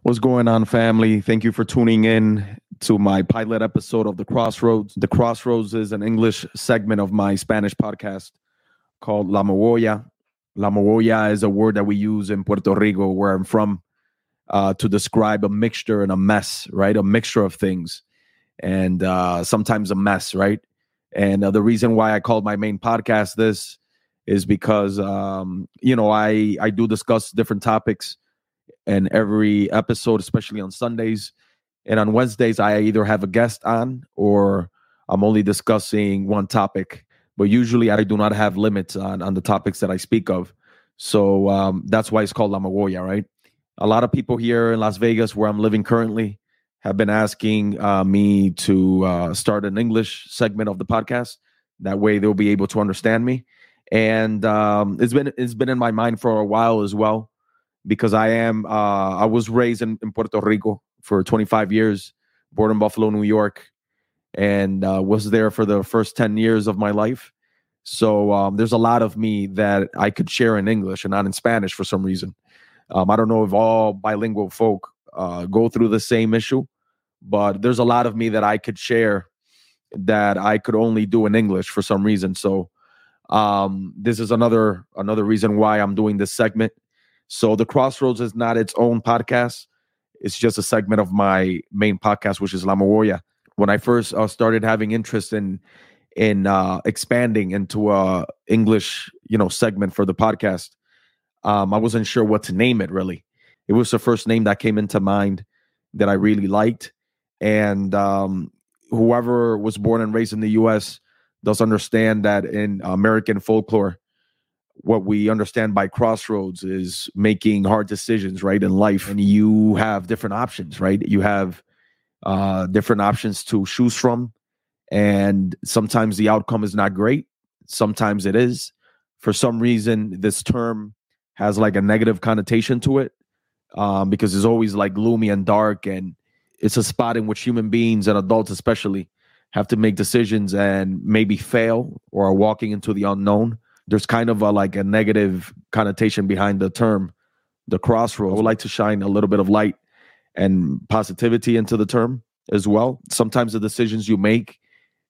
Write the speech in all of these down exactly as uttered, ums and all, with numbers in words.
What's going on, family? Thank you for tuning in to my pilot episode of The Crossroads. The Crossroads is an English segment of my Spanish podcast called La Mogolla. La Mogolla is a word that we use in Puerto Rico, where I'm from, uh, to describe a mixture and a mess, right? A mixture of things and uh, sometimes a mess, right? And uh, the reason why I called my main podcast this is because, um, you know, I, I do discuss different topics in every episode, especially on Sundays. And on Wednesdays, I either have a guest on or I'm only discussing one topic. But usually I do not have limits on, on the topics that I speak of. So um, that's why it's called La Mogolla, right? A lot of people here in Las Vegas, where I'm living currently, have been asking uh, me to uh, start an English segment of the podcast. That way they'll be able to understand me. And um, it's been it's been in my mind for a while as well, because I am uh, I was raised in, in Puerto Rico for twenty-five years, born in Buffalo, New York, and uh, was there for the first ten years of my life. So um, there's a lot of me that I could share in English and not in Spanish for some reason. Um, I don't know if all bilingual folk uh, go through the same issue, but there's a lot of me that I could share that I could only do in English for some reason. So um, this is another another reason why I'm doing this segment. So The Crossroads is not its own podcast. It's just a segment of my main podcast, which is La Mogolla. When I first uh, started having interest in in uh, expanding into a English, you know, segment for the podcast, um, I wasn't sure what to name it, really. It was the first name that came into mind that I really liked. And um, whoever was born and raised in the U S does understand that in American folklore, what we understand by crossroads is making hard decisions, right, in life. And you have different options, right? You have uh, different options to choose from. And sometimes the outcome is not great. Sometimes it is. For some reason, this term has like a negative connotation to it um, because it's always like gloomy and dark. And it's a spot in which human beings and adults especially have to make decisions and maybe fail or are walking into the unknown. There's kind of a, like a negative connotation behind the term, the crossroads. I would like to shine a little bit of light and positivity into the term as well. Sometimes the decisions you make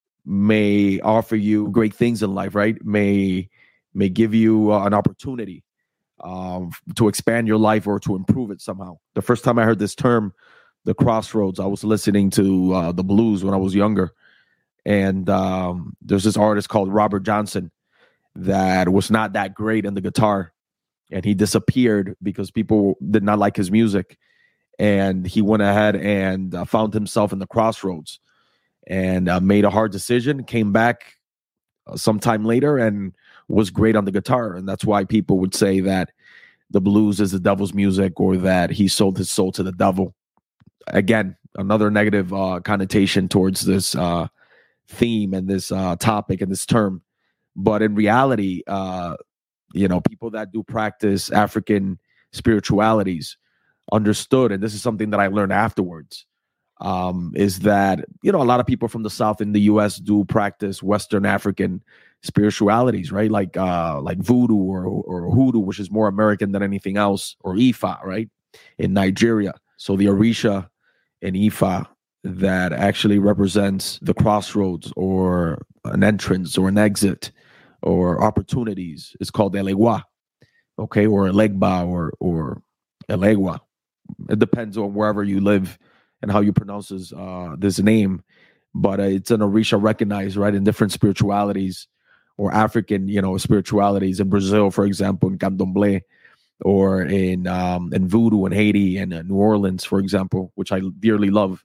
may offer you great things in life, right? May may give you uh, an opportunity um, to expand your life or to improve it somehow. The first time I heard this term, the crossroads, I was listening to uh, the blues when I was younger. And um, there's this artist called Robert Johnson that was not that great in the guitar, and he disappeared because people did not like his music, and he went ahead and uh, found himself in the crossroads and uh, made a hard decision, came back uh, sometime later and was great on the guitar. And that's why people would say that the blues is the devil's music, or that he sold his soul to the devil. Again, another negative uh, connotation towards this uh, theme and this uh, topic and this term. But in reality, uh, you know, people that do practice African spiritualities understood, and this is something that I learned afterwards, um, is that, you know, a lot of people from the South in the U S do practice Western African spiritualities, right? Like uh, like voodoo or, or hoodoo, which is more American than anything else, or Ifa, right, in Nigeria. So the Orisha in Ifa that actually represents the crossroads or an entrance or an exit or opportunities is called Elegua, okay, or Elegba or or Elegua. It depends on wherever you live and how you pronounce this, uh, this name, but uh, it's an Orisha recognized, right, in different spiritualities or African, you know, spiritualities in Brazil, for example, in Candomblé, or in um, in voodoo in Haiti and uh, New Orleans, for example, which I dearly love.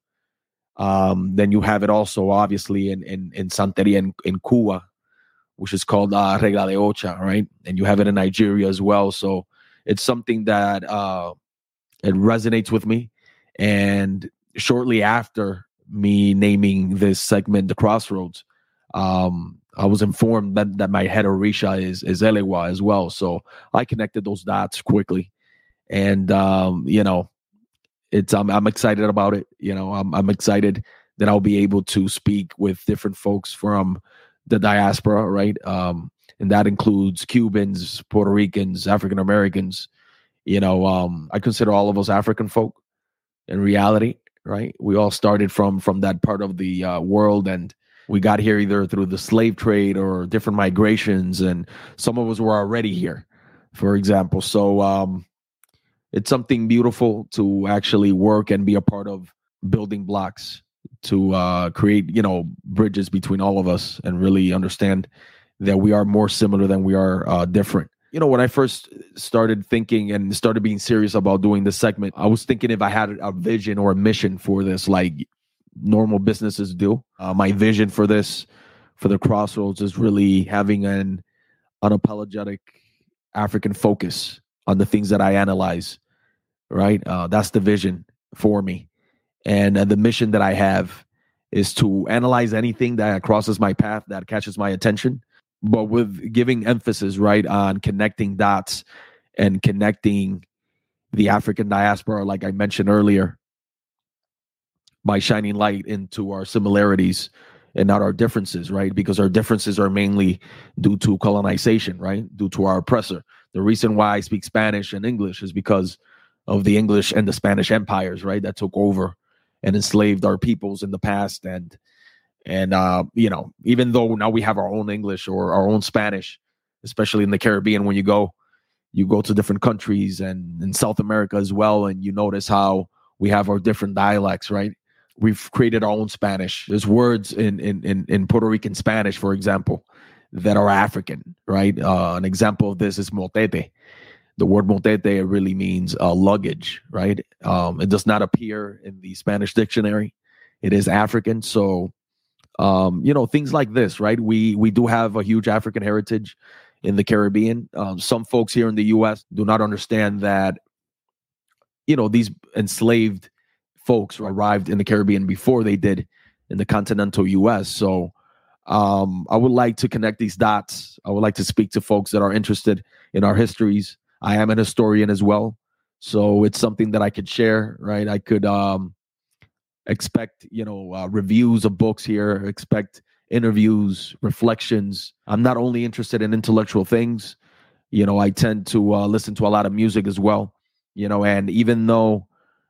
Um, then you have it also, obviously, in in, in Santeria in, in Cuba, which is called uh, Regla de Ocha, right? And you have it in Nigeria as well. So it's something that uh, it resonates with me. And shortly after me naming this segment, The Crossroads, um, I was informed that, that my head Orisha is, is Elewa as well. So I connected those dots quickly. And, um, you know, it's I'm, I'm excited about it. You know, I'm, I'm excited that I'll be able to speak with different folks from the diaspora, right? Um, and that includes Cubans, Puerto Ricans, African Americans. You know, um, I consider all of us African folk. in reality, right? We all started from from that part of the uh, world, and we got here either through the slave trade or different migrations, and some of us were already here, for example. So um, it's something beautiful to actually work and be a part of building blocks to uh, create, you know, bridges between all of us and really understand that we are more similar than we are uh, different. You know, when I first started thinking and started being serious about doing this segment, I was thinking if I had a vision or a mission for this, like normal businesses do. Uh, my vision for this, for the Crossroads, is really having an unapologetic African focus on the things that I analyze, right? Uh, that's the vision for me. And uh, the mission that I have is to analyze anything that crosses my path, that catches my attention, but with giving emphasis, right, on connecting dots and connecting the African diaspora, like I mentioned earlier, by shining light into our similarities and not our differences, right? Because our differences are mainly due to colonization, right? Due to our oppressor. The reason why I speak Spanish and English is because of the English and the Spanish empires, right? That took over and enslaved our peoples in the past. And, and uh, you know, even though now we have our own English or our own Spanish, especially in the Caribbean, when you go, you go to different countries and in South America as well, and you notice how we have our different dialects, right? We've created our own Spanish. There's words in, in, in, in Puerto Rican Spanish, for example, that are African, right? Uh, an example of this is motete. The word motete really means uh, luggage, right? Um, it does not appear in the Spanish dictionary. It is African. So, um, you know, things like this, right? We we do have a huge African heritage in the Caribbean. Um, some folks here in the U S do not understand that, you know, these enslaved folks arrived in the Caribbean before they did in the continental U S. So um, I would like to connect these dots. I would like to speak to folks that are interested in our histories. I am an historian as well. So it's something that I could share, right? I could um, expect, you know, uh, reviews of books here, expect interviews, reflections. I'm not only interested in intellectual things. You know, I tend to uh, listen to a lot of music as well, you know, and even though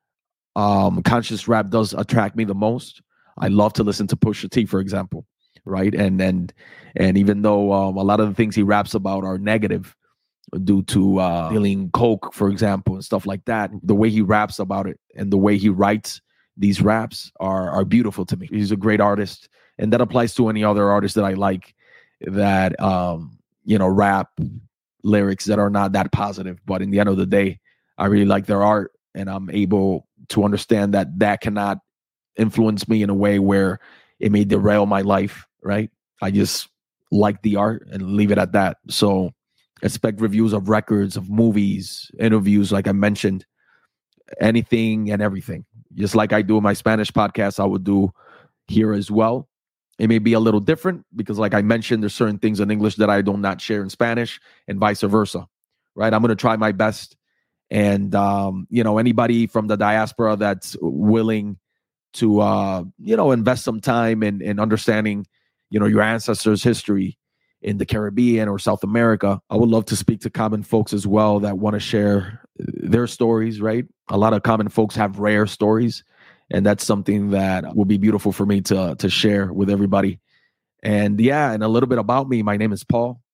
Um, conscious rap does attract me the most, I love to listen to Pusha T, for example, right? And and and even though um, a lot of the things he raps about are negative due to uh, dealing coke, for example, and stuff like that, the way he raps about it and the way he writes these raps are are beautiful to me. He's a great artist, and that applies to any other artist that I like that um, you know rap lyrics that are not that positive. But in the end of the day, I really like their art, and I'm able to understand that that cannot influence me in a way where it may derail my life, right? I just like the art and leave it at that. So expect reviews of records, of movies, interviews, like I mentioned, anything and everything. Just like I do in my Spanish podcast, I would do here as well. It may be a little different because, like I mentioned, there's certain things in English that I do not share in Spanish and vice versa, right? I'm going to try my best. And, um, you know, anybody from the diaspora that's willing to, uh, you know, invest some time in, in understanding, you know, your ancestors' history in the Caribbean or South America, I would love to speak to common folks as well that want to share their stories, right? A lot of common folks have rare stories, and that's something that will be beautiful for me to, to share with everybody. And yeah, and a little bit about me. My name is Paul,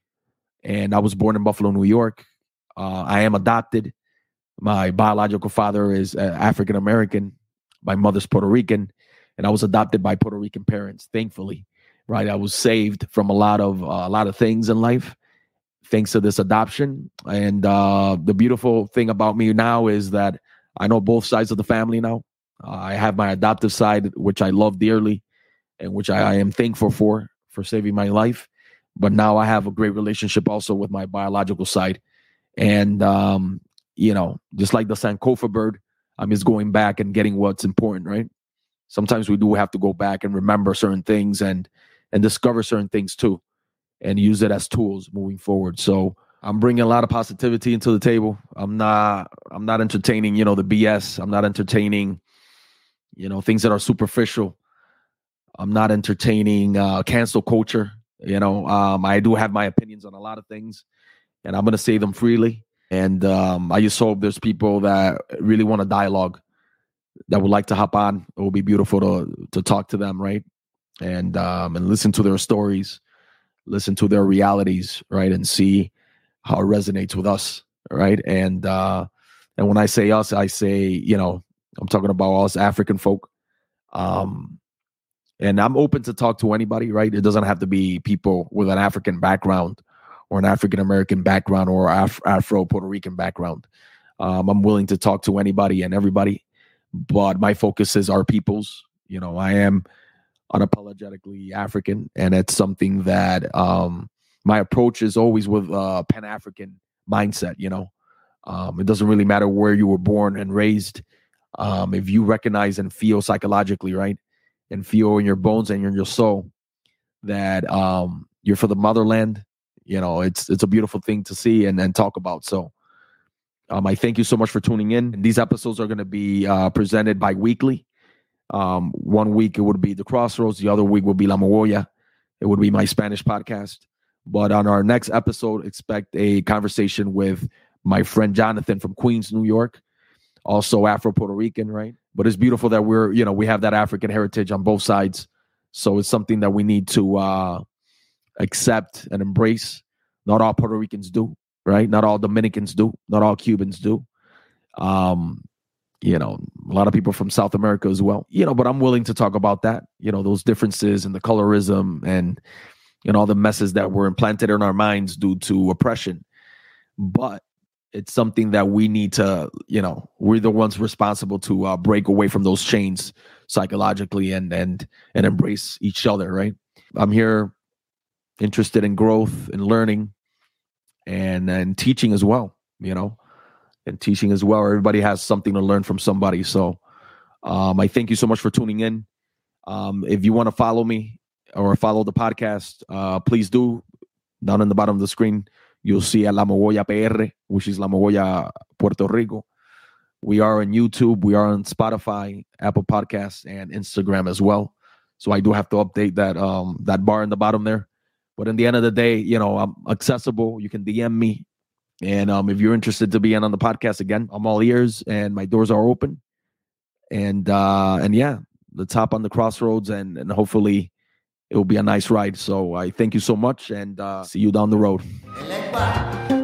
and I was born in Buffalo, New York. Uh, I am adopted. My biological father is uh, African American. My mother's Puerto Rican, and I was adopted by Puerto Rican parents. Thankfully, right? I was saved from a lot of uh, a lot of things in life thanks to this adoption. And uh, the beautiful thing about me now is that I know both sides of the family now. Uh, I have my adoptive side, which I love dearly, and which I, I am thankful for for saving my life. But now I have a great relationship also with my biological side. And, um, you know, just like the Sankofa bird, I'm just going back and getting what's important, right? Sometimes we do have to go back and remember certain things and and discover certain things too, and use it as tools moving forward. So I'm bringing a lot of positivity into the table. I'm not I'm not entertaining, you know, the B S. I'm not entertaining, you know, things that are superficial. I'm not entertaining uh, cancel culture. You know, um, I do have my opinions on a lot of things, and I'm going to say them freely. And um, I just hope there's people that really want to dialogue that would like to hop on. It will be beautiful to to talk to them, right? And um, and listen to their stories, listen to their realities, right? And see how it resonates with us, right? And uh, and when I say us, I say, you know, I'm talking about us African folk. Um, and I'm open to talk to anybody, right? It doesn't have to be people with an African background or an African American background or Af- Afro Puerto Rican background. Um, I'm willing to talk to anybody and everybody, but my focus is our peoples. You know, I am unapologetically African, and it's something that um, my approach is always with a Pan-African mindset. You know, um, it doesn't really matter where you were born and raised. Um, if you recognize and feel psychologically, right, and feel in your bones and in your soul that um, you're for the motherland, you know, it's it's a beautiful thing to see and, and talk about. So um, I thank you so much for tuning in. And these episodes are going to be uh, presented bi-weekly. Um, one week it would be The Crossroads. The other week would be La Mogolla. It would be my Spanish podcast. But on our next episode, expect a conversation with my friend Jonathan from Queens, New York. Also Afro-Puerto Rican, right? But it's beautiful that we're, you know, we have that African heritage on both sides. So it's something that we need to uh, accept and embrace. Not all Puerto Ricans do, right? Not all Dominicans do. Not all Cubans do. Um, you know, a lot of people from South America as well, you know, but I'm willing to talk about that, you know, those differences and the colorism and, and all the messes that were implanted in our minds due to oppression. But it's something that we need to, you know, we're the ones responsible to uh, break away from those chains psychologically and, and, and embrace each other. Right. I'm here interested in growth and learning and, and teaching as well, you know, and teaching as well. Everybody has something to learn from somebody. So um, I thank you so much for tuning in. Um, if you want to follow me or follow the podcast, uh, please do. Down in the bottom of the screen, you'll see a La Mogolla P R, which is La Mogolla Puerto Rico. We are on YouTube. We are on Spotify, Apple Podcasts, and Instagram as well. So I do have to update that um, that bar in the bottom there. But in the end of the day, you know, I'm accessible. You can D M me. And um, if you're interested to be in on the podcast again, I'm all ears and my doors are open. And uh, and yeah, let's hop on the Crossroads and, and hopefully it will be a nice ride. So I thank you so much and uh, see you down the road.